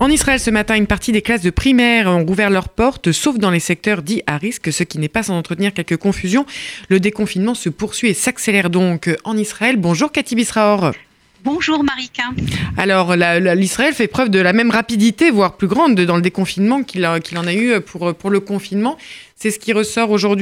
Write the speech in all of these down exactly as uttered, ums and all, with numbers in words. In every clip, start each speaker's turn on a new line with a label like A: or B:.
A: En Israël, ce matin, une partie des classes de primaire ont rouvert leurs portes, sauf dans les secteurs dits à risque, ce qui n'est pas sans entretenir quelques confusions. Le déconfinement se poursuit et s'accélère donc en Israël. Bonjour Cathy Bisraor.
B: Bonjour Marika.
A: Alors, la, la, l'Israël fait preuve de la même rapidité, voire plus grande, dans le déconfinement qu'il, a, qu'il en a eu pour, pour le confinement. C'est ce qui ressort aujourd'hui ?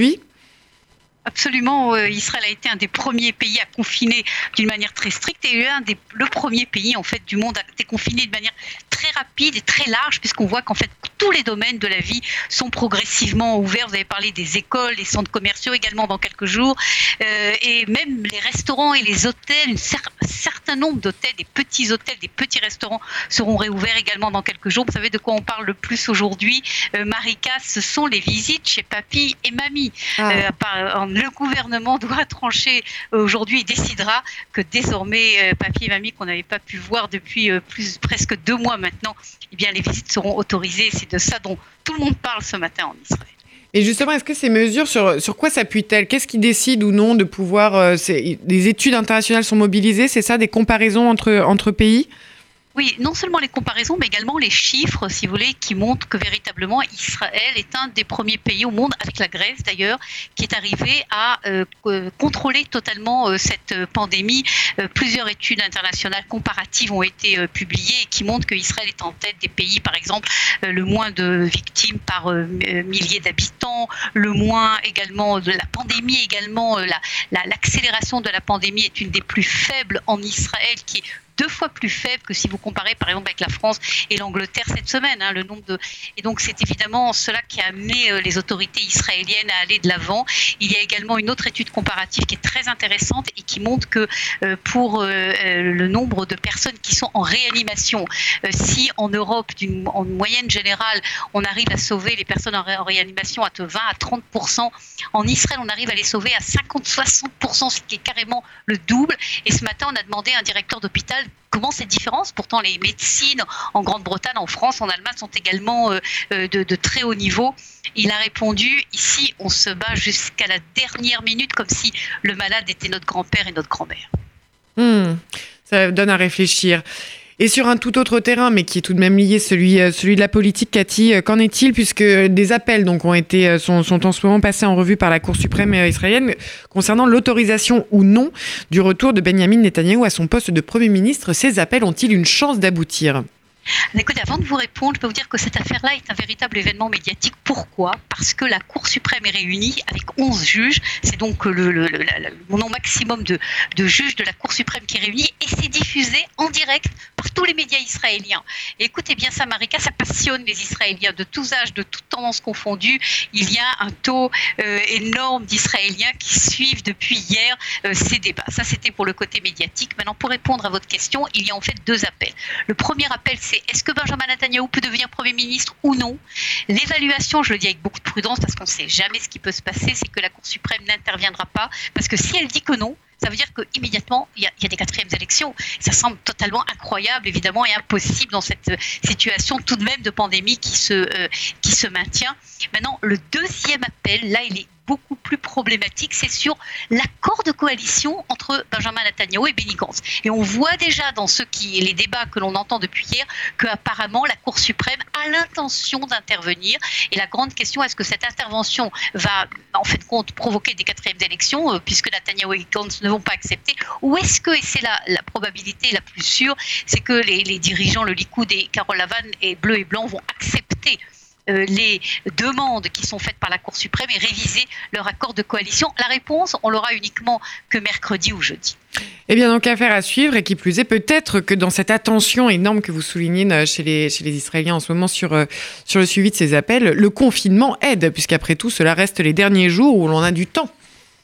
B: Absolument, euh, Israël a été un des premiers pays à confiner d'une manière très stricte et un des, le premier pays en fait du monde à déconfiner de manière très rapide et très large, puisqu'on voit qu'en fait tous les domaines de la vie sont progressivement ouverts. Vous avez parlé des écoles, des centres commerciaux également dans quelques jours, euh, et même les restaurants et les hôtels, une cer- un certain nombre d'hôtels, des petits hôtels, des petits restaurants seront réouverts également dans quelques jours. Vous savez de quoi on parle le plus aujourd'hui, euh, Marika, ce sont les visites chez papy et mamie. Ah. Euh, par, en, Le gouvernement doit trancher aujourd'hui et décidera que désormais, euh, papy et mamie qu'on n'avait pas pu voir depuis euh, plus, presque deux mois maintenant, eh bien, les visites seront autorisées. C'est de ça dont tout le monde parle ce matin en Israël.
A: Et justement, est-ce que ces mesures, sur, sur quoi s'appuient-elles ? Qu'est-ce qui décide ou non de pouvoir... Euh, des études internationales sont mobilisées, c'est ça, des comparaisons entre, entre pays ?
B: Oui, non seulement les comparaisons, mais également les chiffres, si vous voulez, qui montrent que véritablement Israël est un des premiers pays au monde, avec la Grèce d'ailleurs, qui est arrivé à euh, contrôler totalement euh, cette pandémie. Euh, plusieurs études internationales comparatives ont été euh, publiées et qui montrent qu'Israël est en tête des pays, par exemple, euh, le moins de victimes par euh, milliers d'habitants, le moins également de la pandémie, également euh, la, la, l'accélération de la pandémie est une des plus faibles en Israël, qui est deux fois plus faible que si vous comparez par exemple avec la France et l'Angleterre cette semaine. Hein, le nombre de... Et donc c'est évidemment cela qui a amené euh, les autorités israéliennes à aller de l'avant. Il y a également une autre étude comparative qui est très intéressante et qui montre que euh, pour euh, le nombre de personnes qui sont en réanimation, euh, si en Europe, d'une, en moyenne générale, on arrive à sauver les personnes en, ré- en réanimation à vingt à trente pour cent, en Israël on arrive à les sauver à cinquante à soixante pour cent, ce qui est carrément le double. Et ce matin on a demandé à un directeur d'hôpital comment cette différence, pourtant les médecines en Grande-Bretagne, en France, en Allemagne sont également euh, de, de très haut niveau. Il a répondu, ici on se bat jusqu'à la dernière minute comme si le malade était notre grand-père et notre grand-mère.
A: Mmh, ça donne à réfléchir. Et sur un tout autre terrain, mais qui est tout de même lié, celui, celui de la politique, Cathy, qu'en est-il puisque des appels donc, ont été, sont, sont en ce moment passés en revue par la Cour suprême israélienne concernant l'autorisation ou non du retour de Benyamin Netanyahou à son poste de Premier ministre. Ces appels ont-ils une chance d'aboutir ?
B: Écoutez, avant de vous répondre, je peux vous dire que cette affaire-là est un véritable événement médiatique. Pourquoi ? Parce que la Cour suprême est réunie avec onze juges. C'est donc le, le, le, le nombre maximum de, de juges de la Cour suprême qui est réunie et c'est diffusé en direct par tous les médias israéliens. Et écoutez bien ça, Marika, ça passionne les Israéliens de tous âges, de toutes tendances confondues. Il y a un taux euh, énorme d'Israéliens qui suivent depuis hier euh, ces débats. Ça, c'était pour le côté médiatique. Maintenant, pour répondre à votre question, il y a en fait deux appels. Le premier appel, c'est est-ce que Benjamin Netanyahou peut devenir Premier ministre ou non ? L'évaluation, je le dis avec beaucoup de prudence parce qu'on ne sait jamais ce qui peut se passer, c'est que la Cour suprême n'interviendra pas parce que si elle dit que non, ça veut dire qu'immédiatement, il y, a, il y a des quatrièmes élections. Ça semble totalement incroyable, évidemment, et impossible dans cette situation tout de même de pandémie qui se, euh, qui se maintient. Maintenant, le deuxième appel, là, il est beaucoup plus problématique, c'est sur l'accord de coalition entre Benjamin Netanyahou et Benny Gantz. Et on voit déjà dans ce qui, les débats que l'on entend depuis hier qu'apparemment la Cour suprême a l'intention d'intervenir. Et la grande question, est-ce que cette intervention va en fait compte provoquer des quatrièmes élections euh, puisque Netanyahou et Gantz ne vont pas accepter, ou est-ce que, et c'est la, la probabilité la plus sûre, c'est que les, les dirigeants, le Likoud et Carole Lavan et Bleu et Blanc vont accepter Euh, les demandes qui sont faites par la Cour suprême et réviser leur accord de coalition. La réponse, on l'aura uniquement que mercredi ou jeudi.
A: Eh bien, donc, affaire à suivre, et qui plus est, peut-être que dans cette attention énorme que vous soulignez chez les, chez les Israéliens en ce moment sur, euh, sur le suivi de ces appels, le confinement aide, puisqu'après tout, cela reste les derniers jours où l'on a du temps.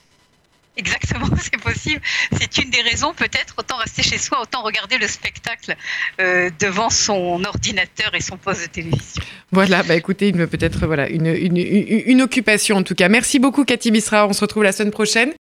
B: Exactement, c'est possible. C'est une des raisons, peut-être, autant rester chez soi, autant regarder le spectacle euh, devant son ordinateur et son poste de télévision.
A: Voilà, bah écoutez, une, peut-être voilà, une, une, une, une occupation en tout cas. Merci beaucoup Cathy Bisraor, on se retrouve la semaine prochaine.